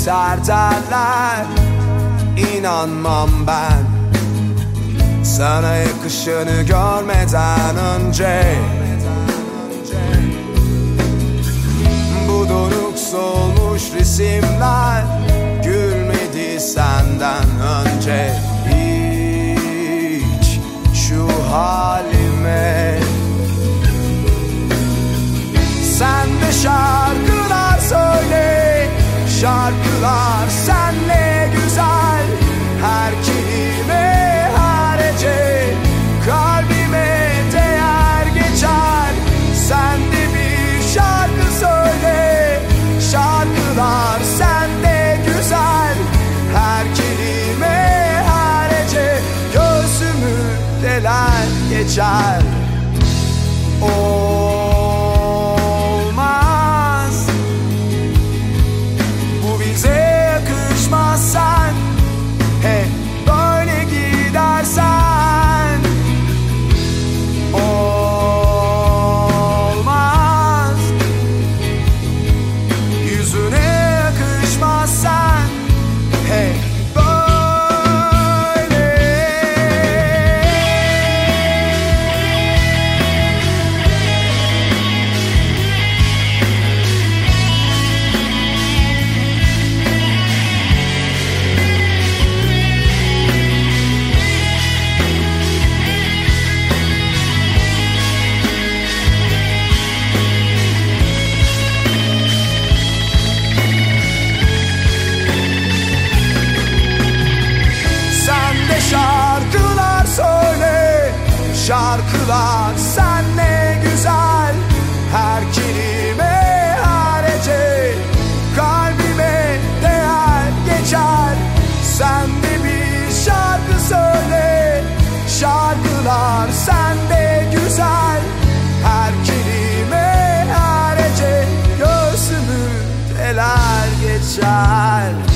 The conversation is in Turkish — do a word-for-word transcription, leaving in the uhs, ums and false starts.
biter derler, İnanmam ben sana yakışanı görmeden önce. Bu donuk solmuş resimler gülmedi senden önce. Hiç şu halime. Sen de şarkılar söyle, şarkılar senle güzel. Her kelime, her hece kalbime değer geçer. Sen de bir şarkı söyle, şarkılar sende güzel. Her kelime, her hece göğsümü deler geçer. Olmaz, bu bize yakışmaz. Sen hep böyle gidersen olmaz, yüzüne yakışmaz. Sen hep şarkılar söyle, şarkılar senle güzel. Her kelime, her hece kalbime değer geçer. Sen de bir şarkı söyle, şarkılar sende güzel. Her kelime, her hece göğsümü deler geçer.